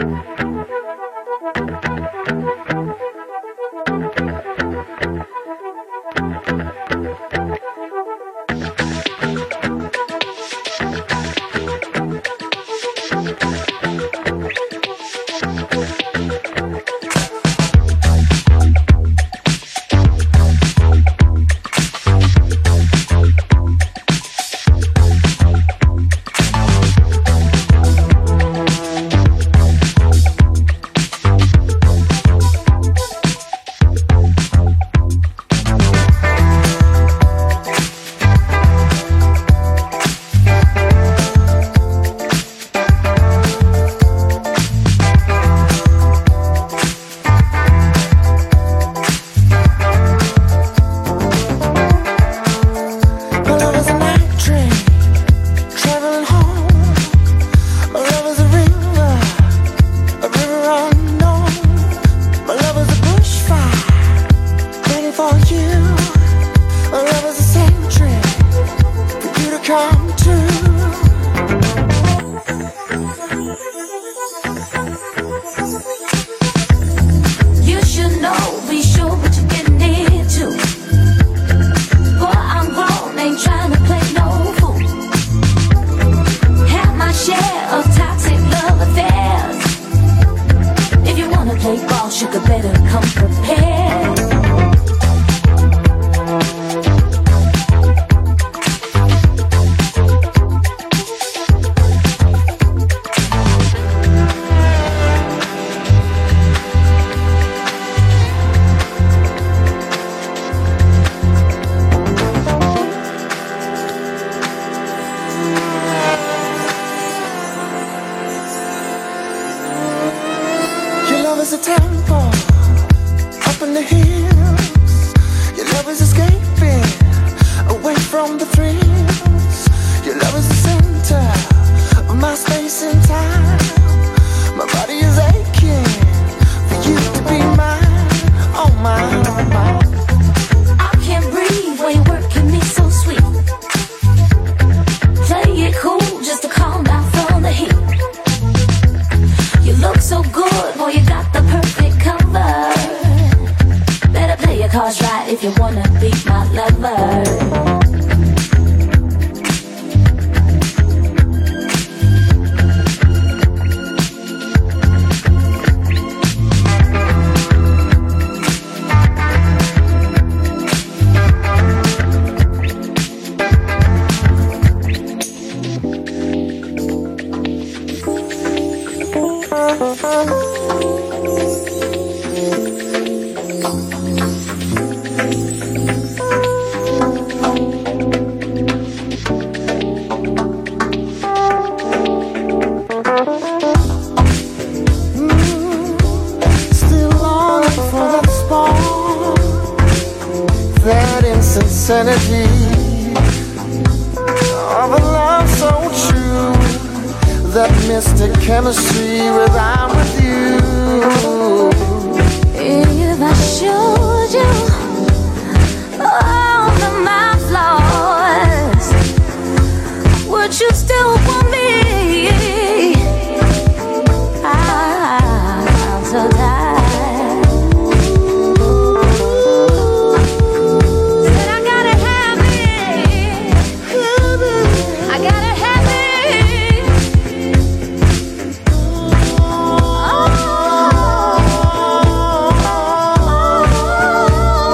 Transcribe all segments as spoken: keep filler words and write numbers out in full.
Oh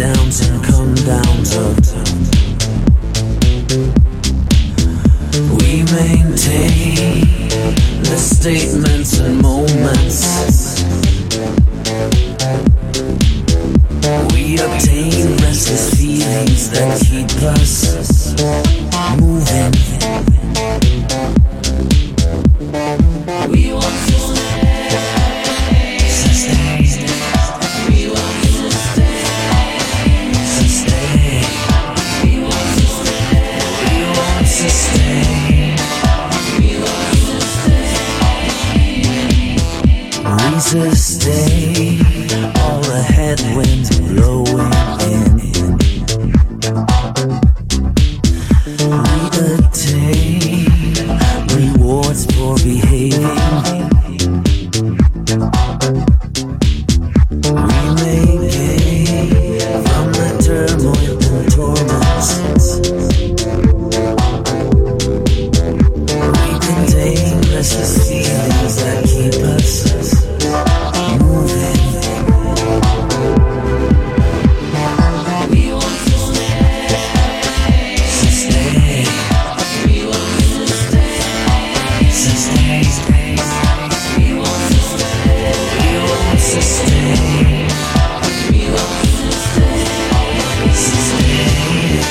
downs and come downs of. We maintain the statements and moments. We obtain restless feelings that keep us moving. We want to stay, sustain. We want to stay, sustain. We want to stay, we want to stay. We want to stay. We sustain all the headwinds blowing in. We attain rewards for behaving. We make gain from the turmoil and torments. We contain restless feelings that keep us moving. We want to stay, sustain. We want to stay, sustain. We want to stay, we want to stay. We want to stay, sustain.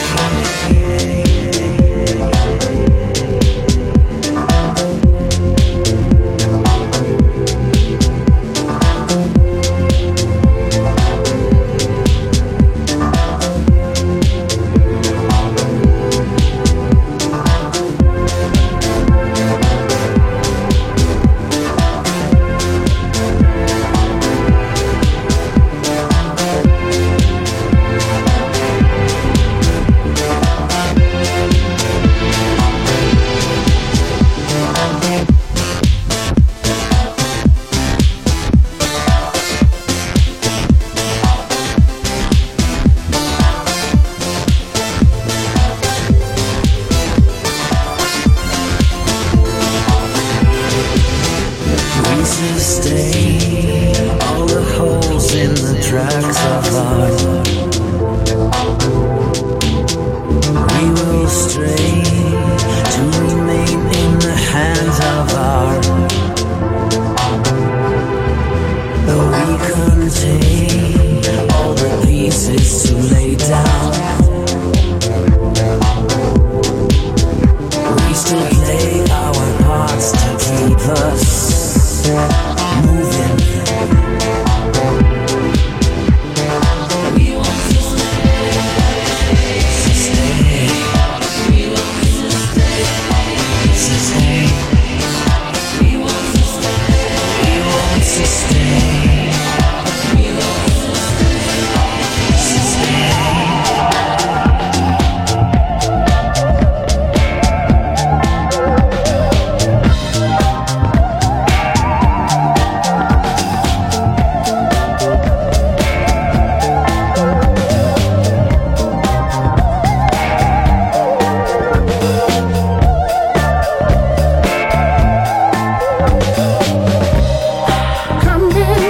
We sustain all the holes in the tracks of art. We will stray to remain in the hands of art. Though we contain all the pieces to lay down, we still play our parts to keep us moving. We want to stay, sustain. We want to stay, sustain. We want to stay, we want to stay. We want to stay, sustain. Come in.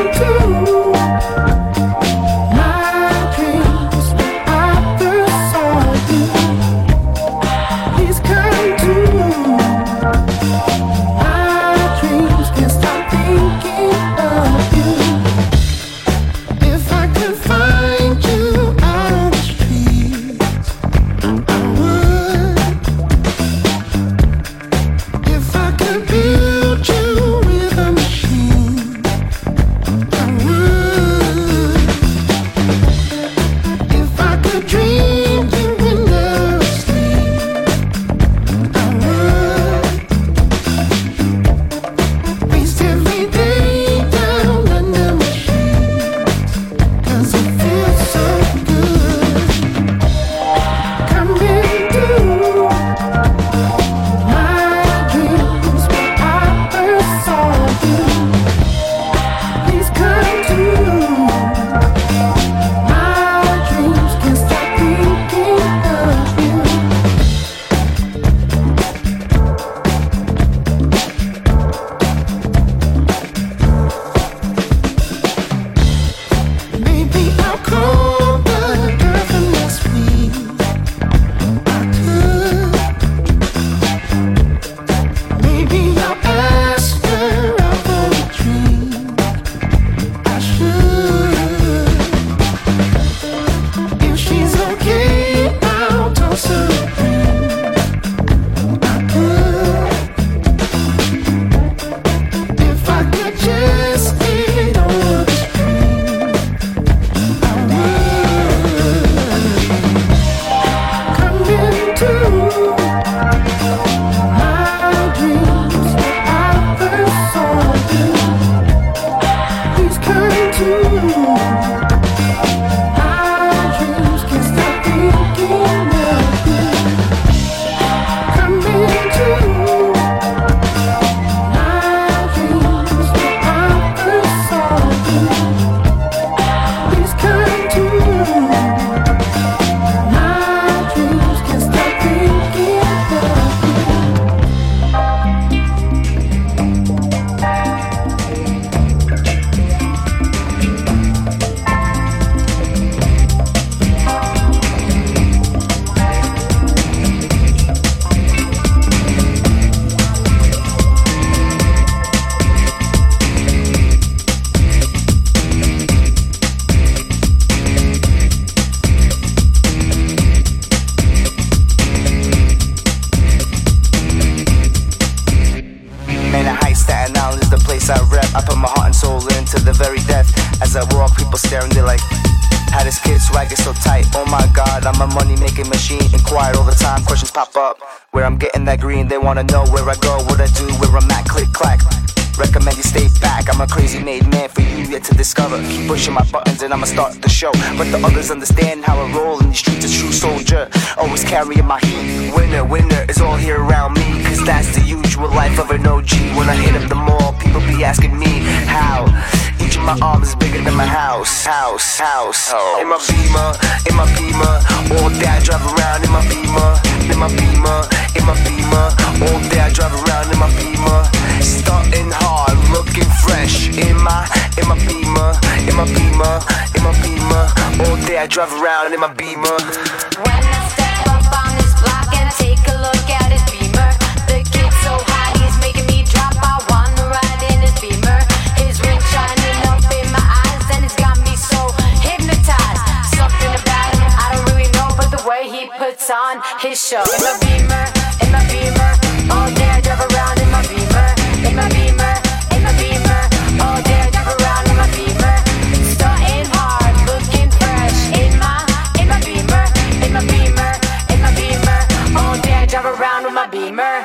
my heart and soul into the very death. As I walk, people staring, they're like, how this kid swag is so tight. Oh my god, I'm a money making machine. Inquired all the time, questions pop up. Where I'm getting that green, they wanna know where I go, what I do, where I'm at, click clack. Recommend you stay back, I'm a crazy made man for you yet to discover. Keep pushing my buttons and I'ma start the show. But the others understand how I roll in these streets, a true soldier. Always carrying my heat. Winner, winner is all here around me. Cause that's the usual life of an O G. When I hit up the mall, people be asking me how. Each of my arms is bigger than my house. House, house. In my Beamer, in my Beamer. All day I drive around in my Beamer. In my Beamer, in my Beamer. All day I drive around in my Beamer. Starting hard, looking fresh. In my, in my Beamer, in my Beamer, in my Beamer. All day I drive around in my Beamer. When I step up on this block and take a look at his Beamer, the kid's so hot he's making me drop. I wanna ride in his Beamer. His ring shining up in my eyes and it's got me so hypnotized. Something about him I don't really know, but the way he puts on his show. In my Beamer, in my Beamer. All day I drive around in my Beamer. In my Beamer, in my Beamer. All day I drive around in my Beamer. Starting hard, looking fresh. In my, in my Beamer, in my Beamer, in my Beamer. All day I drive around with my Beamer.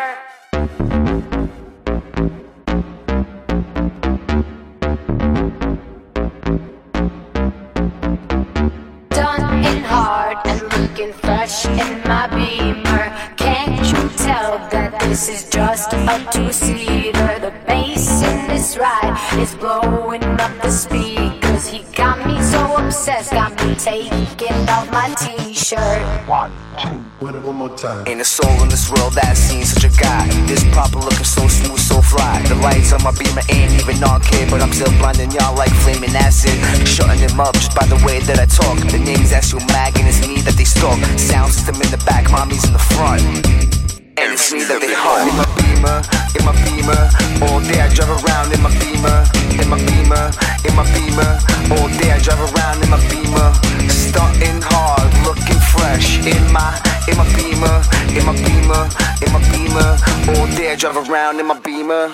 Done in hard and looking fresh in my Beamer. Can't you tell that this is just a two-seater? The bass in this ride is blowing up the speakers. He got me so obsessed, got me taking off my t-shirt. One, two, one more time. Ain't a soul in this world that's seen such a guy. This proper looking so smooth, so fly. The lights on my Beamer ain't even on kid, but I'm still blinding y'all like flaming acid. Shutting him up just by the way that I talk. The name's Astro Mag and it's me that they stalk. Sound system in the back, mommy's in the front. And it's me that they hunt. In my Beamer, in my Beamer. All day I drive around in my Beamer. In my Beamer, in my Beamer. All day I drive around in my Beamer. Starting hard, looking fresh. In my, in my Beamer, in my Beamer, in my Beamer. All day I drive around in my Beamer.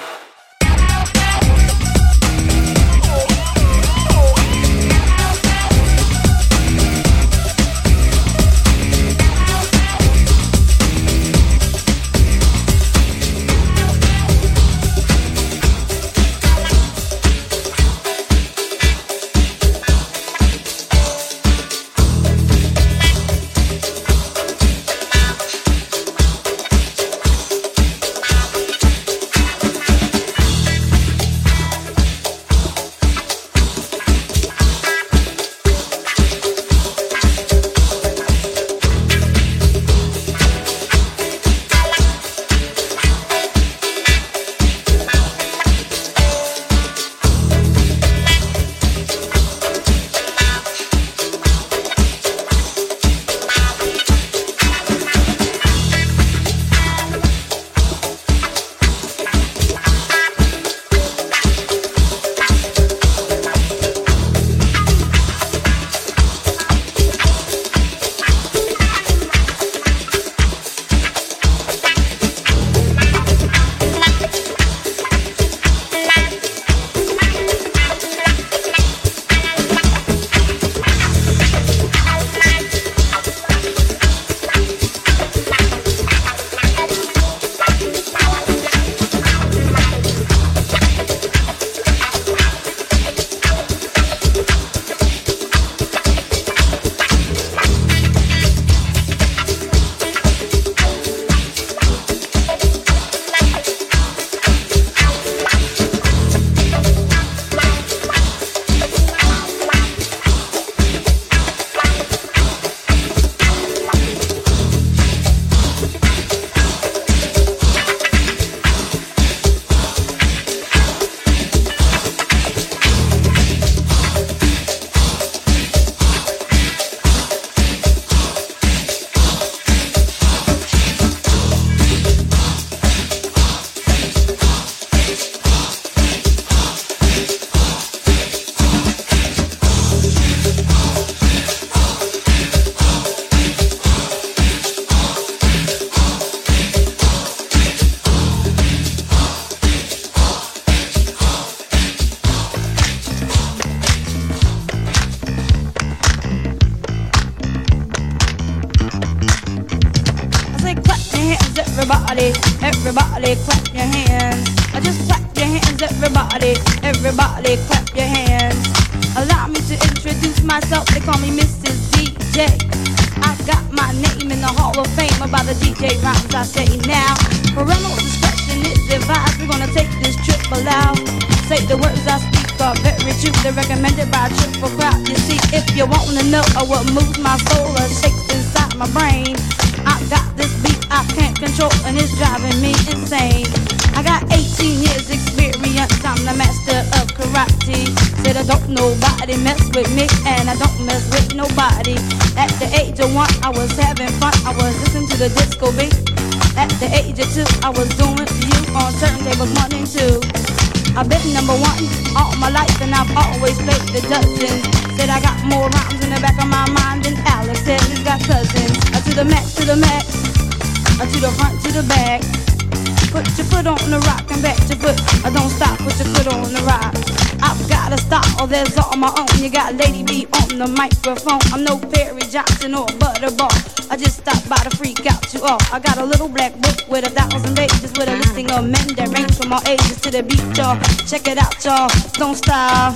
everybody, everybody clap your hands. Just clap your hands, everybody, everybody clap your hands. Allow me to introduce myself, they call me Missus D J. I got my name in the Hall of Fame about the D J rhymes I say now. Parental discretion is advised, we're gonna take this trip aloud. Say the words I speak are very true, they're recommended by a triple crowd. You see, if you wanna know what moves my soul or shakes inside my brain, I got this beat I can't control and it's driving me insane. I got eighteen years experience, I'm the master of karate. Said I don't nobody mess with me and I don't mess with nobody. At the age of one I was having fun, I was listening to the disco beat. At the age of two I was doing to you on turntables one and two. I've been number one all my life and I've always played the dozens. Said I got more rhymes in the back of my mind than Alex said he's got cousins. Uh, to the max, to the max, uh, to the front, to the back. Put your foot on the rock and back your foot. I don't stop, put your foot on the rock. I've gotta stop, oh there's all my own. You got Lady B on the microphone. I'm no Perry Johnson or Butterball. I just stopped by to freak out you all. I got a little black book with a thousand pages with a listing of men that range from all ages to the beat, y'all. Check it out, y'all. Don't stop.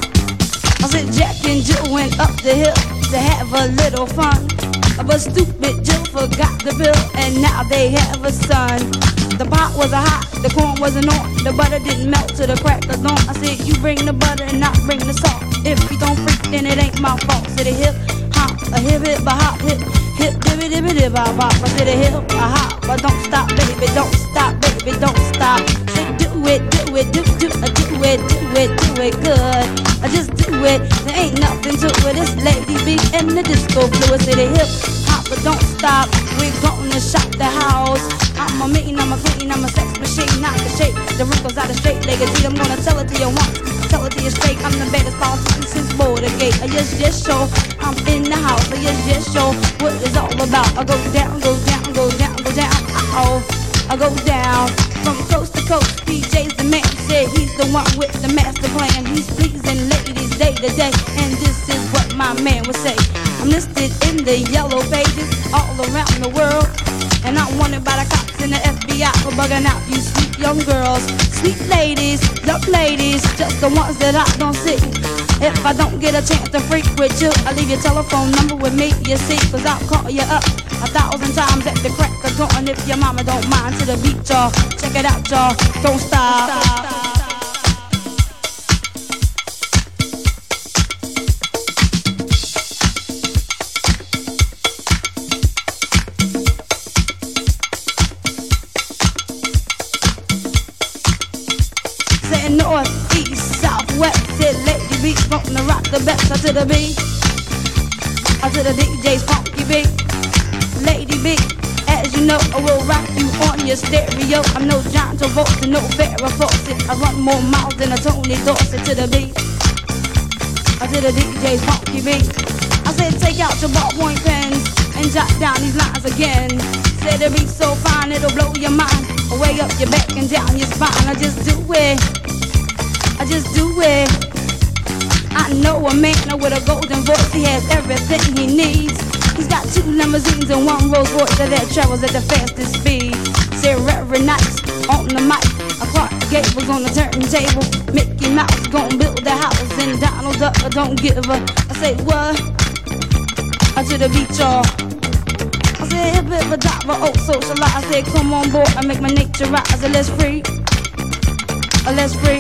I said Jack and Jill went up the hill to have a little fun. But stupid Jill forgot the bill and now they have a son. The pot wasn't hot, the corn wasn't on, the butter didn't melt to the crack of dawn. I said you bring the butter and I bring the salt. If you don't freak then it ain't my fault. Said a hip hop, a hip hip a hop, hip hip dibby dibby dib bop bop. I said a hip a hop, but don't stop baby, don't stop baby, don't stop. Say do it, do it, do do do it, do it, do it good. I just do it, there ain't nothing to it. It's Lady B and the disco fluid. Said a hip hop, but don't stop. We're gonna shop the house. I'm a mean, I'm a clean, I'm a sex machine, not the shape. The wrinkles out of straight legacy. I'm gonna tell it to you once, tell it to you straight. I'm the baddest politician since Bordergate. I yes, yes, show. I'm in the house. I yes, yes, show. What it's all about. I go down, go down, go down, go down. Oh, I go down from coast to coast. D J's the man. Said he's the one with the master plan. He's pleasing ladies day to day, and this is what my man would say. I'm listed in the yellow pages all around the world. And I'm wanted by the cops and the F B I for bugging out you sweet young girls. Sweet ladies, young ladies, just the ones that I don't see. If I don't get a chance to freak with you, I'll leave your telephone number with me, you see. Cause I'll call you up a thousand times at the crack of dawn. If your mama don't mind, to the beat, y'all. Check it out, y'all. Don't stop. Don't stop. North, east, southwest, said Lady B gonna rock the best. I to the beat, I to the D J's funky beat. Lady B, as you know, I will rock you on your stereo. I'm no John Travolta, no Farrah Fawcett. I run more miles than a Tony Dorsett. To the beat, I to the D J's funky beat. I said take out your ballpoint pens and jot down these lines again. Said the beat's so fine it'll blow your mind, way up your back and down your spine. I just do it. I just do it. I know a man with a golden voice. He has everything he needs. He's got two limousines and one Rolls Royce that travels at the fastest speed. Said Reverend Nice on the mic, a Clark Gable's on the turntable. Mickey Mouse gon' build the house and Donald Duck don't give a. I say what? I to the beat, y'all. I said hip hip a diver, oh socialize. I said come on board, I make my nature rise. I said let's free, let's free.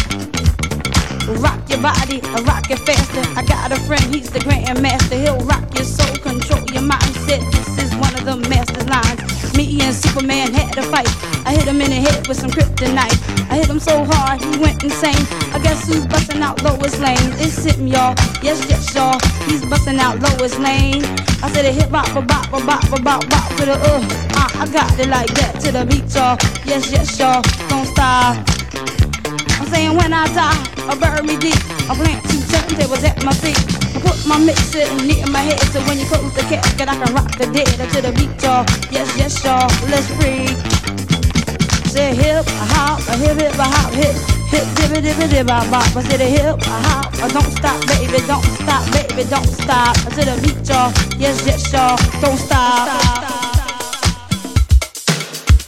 Rock your body, rock it faster. I got a friend, he's the grandmaster. He'll rock your soul, control your mindset. This is one of the master's lines. Me and Superman had a fight. I hit him in the head with some kryptonite. I hit him so hard, he went insane. I guess who's busting out Lois Lane? It's him, y'all. Yes, yes, y'all. He's busting out Lois Lane. I said a hip hop, a bop, a bop, a bop, bop to the uh. uh I got it like that to the beat, y'all. Yes, yes, y'all. Don't stop. I'm saying when I die, I bury me deep. I plant two turntables at my feet. I put my mixer near my head, so when you close the casket, I can rock the dead to the beat, y'all. Yes, yes, y'all. Let's freak. Say hip, a hop, a hip, hip, a hop, hip, hip, dibby, dibby, dibby, bop, bop. I said a hip, a hop, a don't stop, baby, don't stop, baby, don't stop. I said a beat, y'all. Yes, yes, y'all. Don't stop. Don't stop.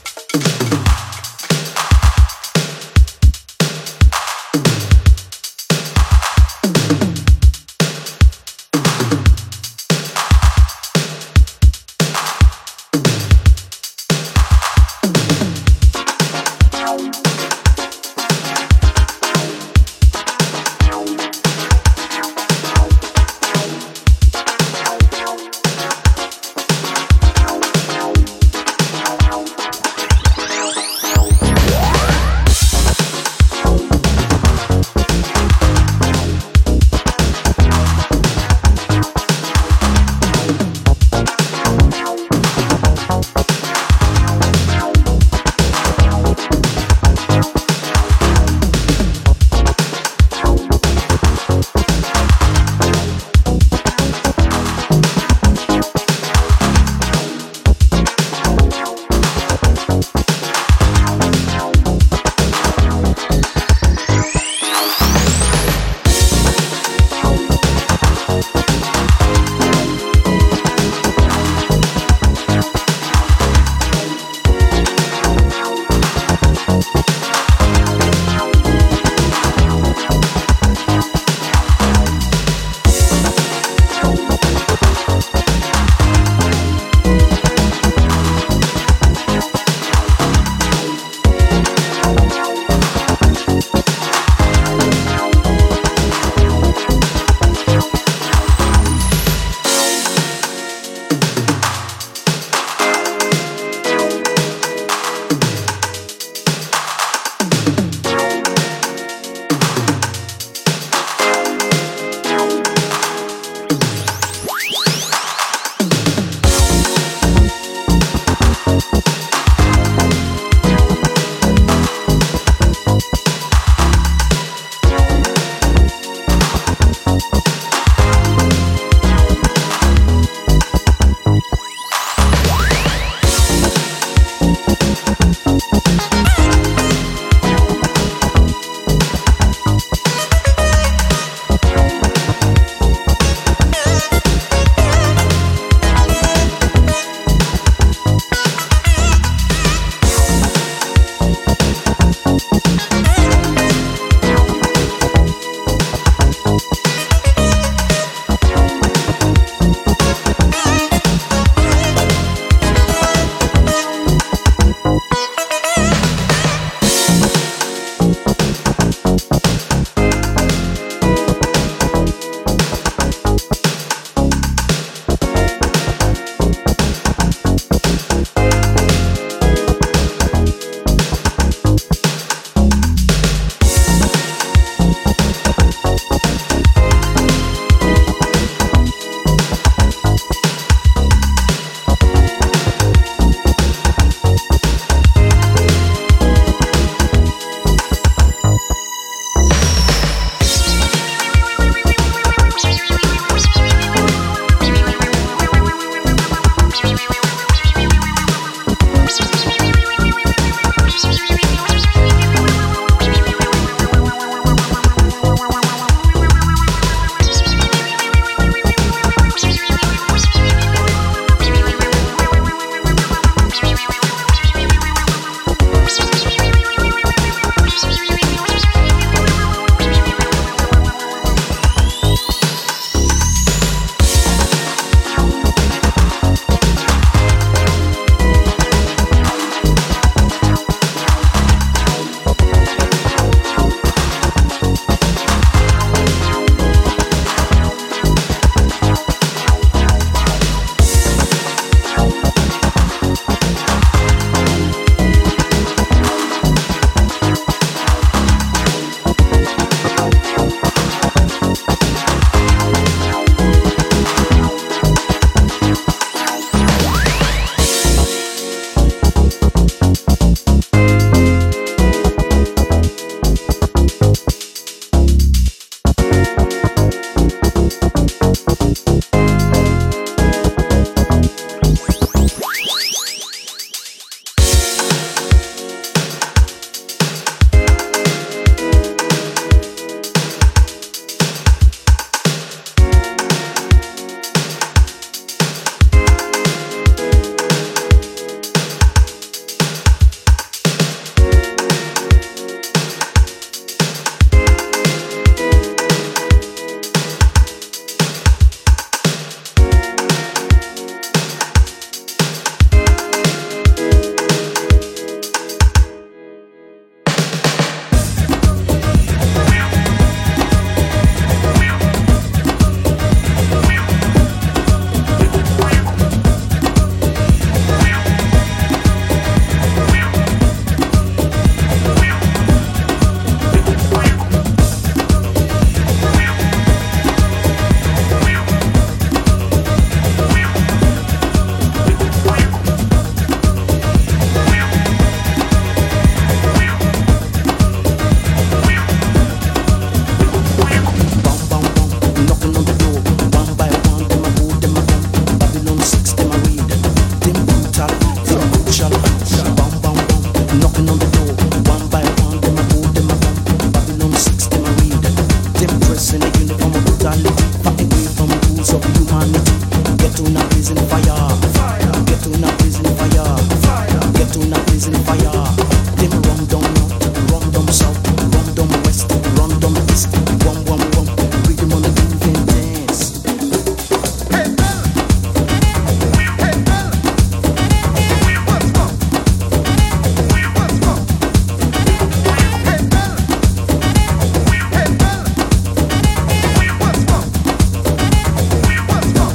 Pressing the uniform of brutality, fighting away from rules of humanity. Get to now prison fire, get to now prison fire, get to now prison fire. Them run down north, run down south, run down west, run down east. One, one, one, rhythm on the moving dance. Hey Bella, hey Bella, what's wrong? What's wrong? Hey Bella, hey Bella, what's wrong? What's wrong?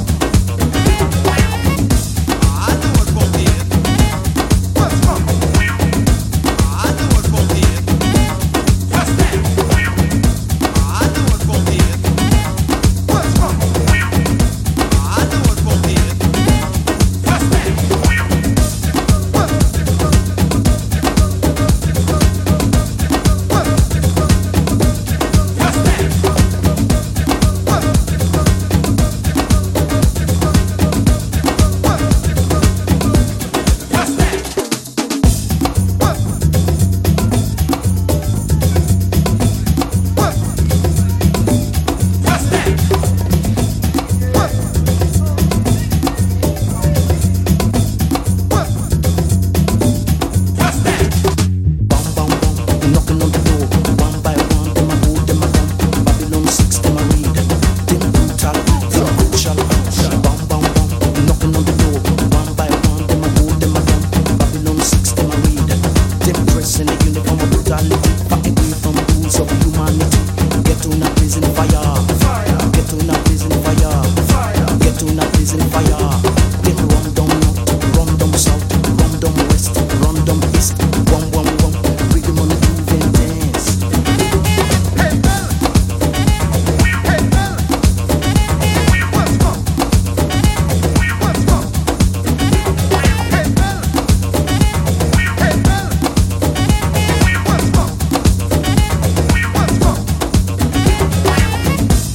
I know what's wrong here. What's wrong? I know what's wrong here. What's that? I know what's wrong here. What's wrong? I know what's wrong here. What's that? What? What? What's that? What? What? What's that? What? What? What's that? What? What? What's that? Bum bum bum, knocking on the door, one by one. Them I go, them I come. Babylon six, them I read. Them brutal, them crucial. Bum bum bum, knocking on the door, one by one. Them I go, them I come. Babylon six, them I read. Them pressing the uniform of brutality, fighting away from rules of humanity. Get to now prison fire, get to now prison fire, get to now prison fire. Them run down north, run down south, run down west, run down east. One, one, one, rhythm on the moving dance. Hey Bella, hey Bella, what's wrong? What's wrong? Hey Bella, hey Bella, what's wrong? What's wrong?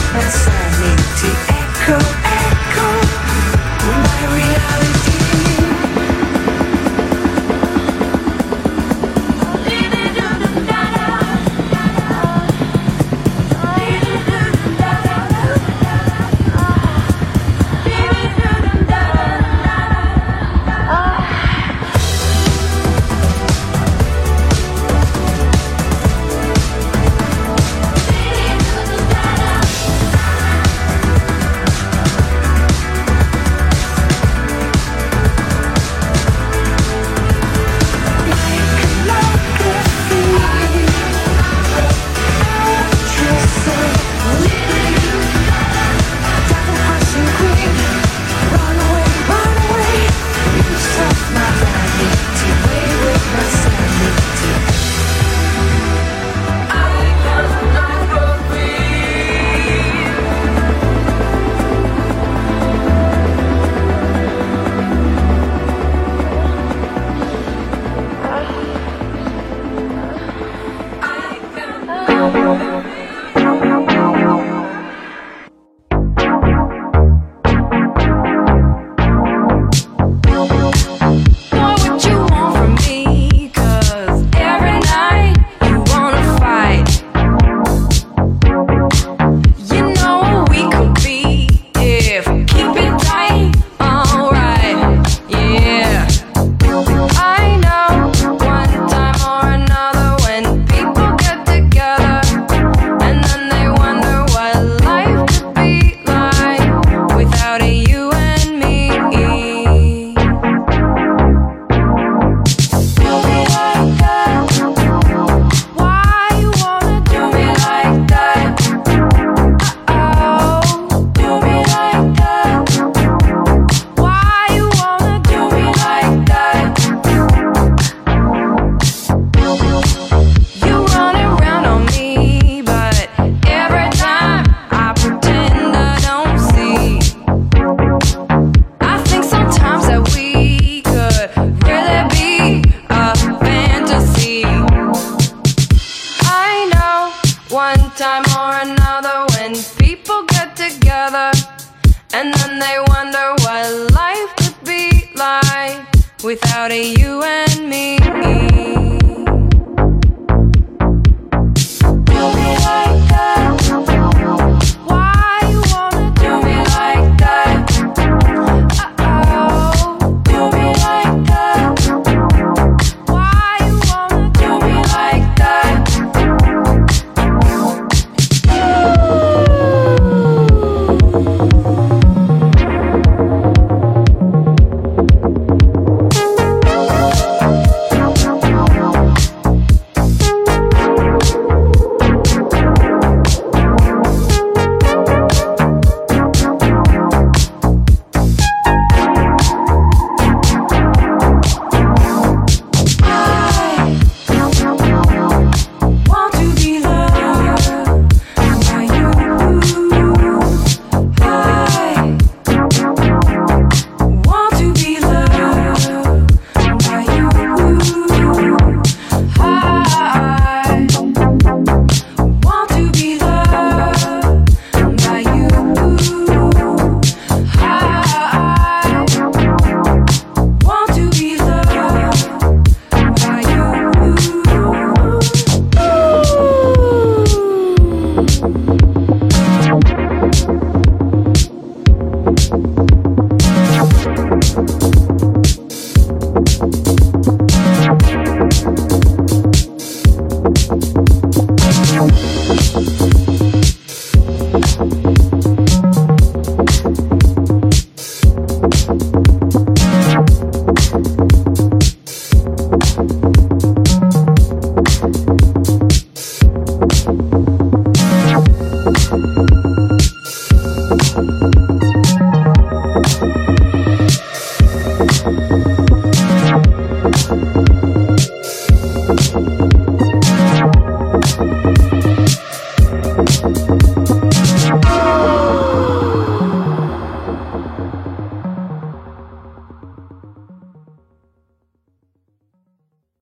without a you and me. Do me like that. Why you wanna do me like that? Uh-oh. Do me like that. Why you wanna do me like that? We'll be right back.